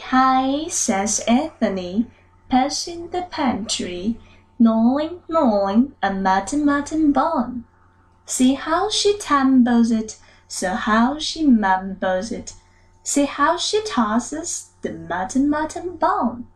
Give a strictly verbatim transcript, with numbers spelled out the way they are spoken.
hi, says Anthony, passing the pantry, gnawing, gnawing a mutton mutton bone. See how she tumbles it, so how she mumbles it. See how she tosses the mutton mutton bone.